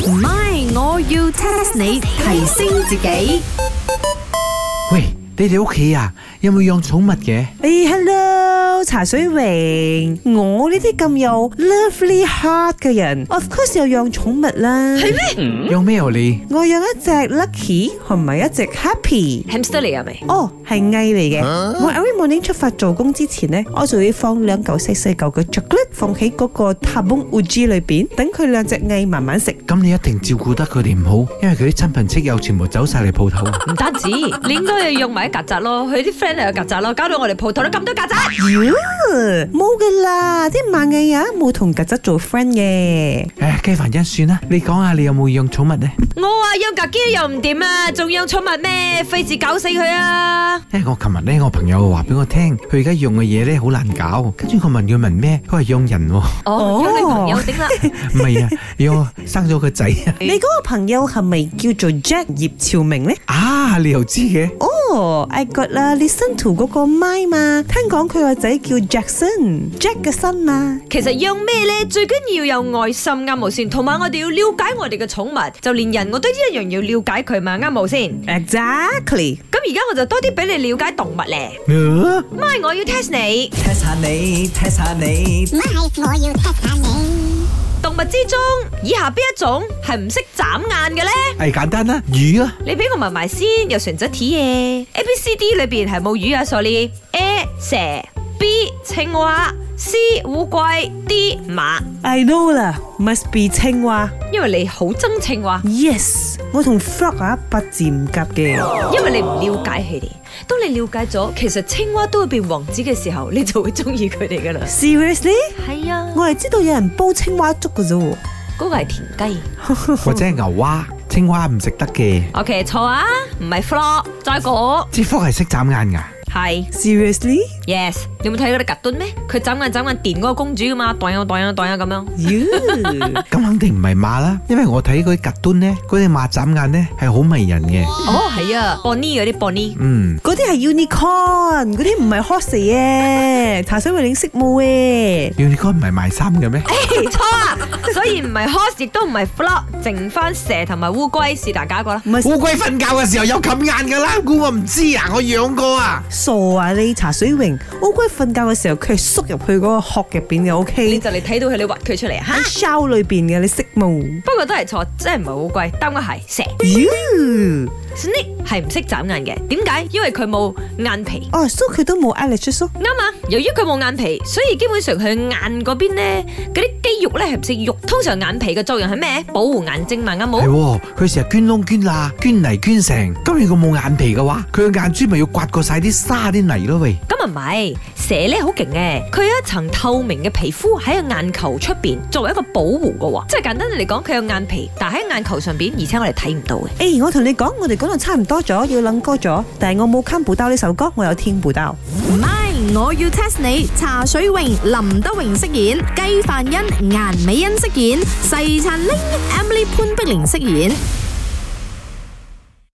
唔係，我要 test 你提升自己。 喂，你哋屋企啊，有冇養寵物嘅 ？Hello， 茶水榮，我呢啲咁有 lovely heart 嘅人 ，of course 有養寵物啦。 係咩？ 養咩你？ 我養一隻 Lucky 同埋一隻 Happy。Hamster 嚟係咪？ 哦，係蟻嚟嘅。我 every morning 出發做工之前呢，我就會放2嚿細細嚿嘅 chocolate 放喺嗰個 tabung uji 裏邊，等佢2隻蟻慢慢食。 咁你一定照顧得佢哋唔好，因為佢啲親朋戚友全部走晒嚟鋪頭。 唔單止，你應該要養埋啲曱甴咯，佢啲 friend 又有曱甴咯，搞到我哋鋪頭都咁多曱甴。 冇噶啦，啲螞蟻啊冇同曱甴做 friend 嘅。 雞凡欣算啦，你講下你有冇養寵物呢？ 我話養格基又唔掂啊，仲養寵物咩？費事搞死佢啊！ 因為我琴日咧，我朋友話俾我聽，佢而家用嘅嘢咧好難搞，跟住我問佢問咩，佢話養人喎。 養女朋友頂啦。 唔係啊，養生咗個仔啊。 你嗰個朋友係咪叫做 Jack 葉朝明呢？ 啊，你又知嘅 ？I got 啦 ，listen to 嗰個麥嘛，聽講佢個仔叫 Jackson，Jack 嘅新嘛。 其實養咩咧，最緊要有愛心啱冇先，同埋我哋要了解我哋嘅寵物，就連人我都一樣要了解佢嘛，啱冇先 ？Exactly。 咁而家我就多啲俾你了解動物咧。咪我要 test 你 ，test 下你，test 下你， 咪我要 test 下你。 動物之中，以下邊一種係唔識眨眼嘅咧？ 係簡單啦，魚啊！ 你俾我問埋先，有選擇題嘅 A、B、C、D 裏邊係冇魚啊 ，sorry。A 蛇 ，B 青蛙 ，C 烏龜 ，D 馬。 I know 啦 ，must be 青蛙。 因為你好憎青蛙。 Yes， 我同 frog 啊八字唔夾嘅。 因為你唔了解佢哋，當你了解咗，其實青蛙都會變王子嘅時候，你就會中意佢哋噶啦。 Seriously？ 係啊， 我係知道有人煲青蛙粥嘅啫。 嗰個係田雞， 或者係牛蛙。青蛙唔食得嘅。 OK， 錯啊，唔係 frog， 再講。 隻 frog 係識眨眼噶。 係 Seriously？Yes。 你有冇睇嗰啲格敦咩？佢眨眼電嗰個公主噶嘛，蕩呀蕩呀蕩呀咁樣。 咁肯定唔係馬啦，因為我睇嗰啲格敦咧，嗰啲馬眨眼咧係好迷人嘅。 哦，係啊 ，Bonnie 嗰啲 Bonnie。 嗰啲係 unicorn， 嗰啲唔係 horse 嘅。茶水榮識冇嘅。 unicorn 唔係賣衫嘅咩？ 錯啊，所以唔係 horse， 亦都唔係 frog， 剩翻蛇同埋烏龜是大家個啦。 烏龜瞓覺嘅時候有冚眼噶啦，估我唔知啊，我養過啊。 傻啊你茶水榮，烏龜瞓覺嘅時候佢係縮入去嗰個殼入邊嘅 ，OK？ 你就嚟睇到佢，你挖佢出嚟啊！ 喺 shell 裏邊嘅，你識冇？ 不過都係錯，真係唔係烏龜，答案係蛇。Snake 係唔識眨眼嘅，點解？因為佢冇眼皮。 哦，所以佢都冇 eyelash 咯。 啱啊！由於佢冇眼皮，所以基本上佢眼嗰邊咧，嗰啲肌肉咧係唔識喐。通常眼皮嘅作用係咩？保護眼睛嘛，啱冇？ 係，佢成日捐窿捐罅，捐泥捐成。咁如果冇眼皮嘅話，佢嘅眼珠咪要刮過晒啲沙啲泥咯喂。 咁啊唔係，蛇咧好勁嘅，佢有一層透明嘅皮膚喺個眼球出邊，作為一個保護嘅喎。即係簡單嚟講，佢有眼皮，但係喺眼球上邊，而且我哋睇唔到嘅。 我同你講，我哋講到差唔多咗，要諗歌咗，但係我冇看補刀呢首歌，我有聽補刀。 唔係，我要 test 你。茶水榮、林德榮飾演，雞飯欣、顏美欣飾演，細燦玲、Emily 潘碧玲飾演。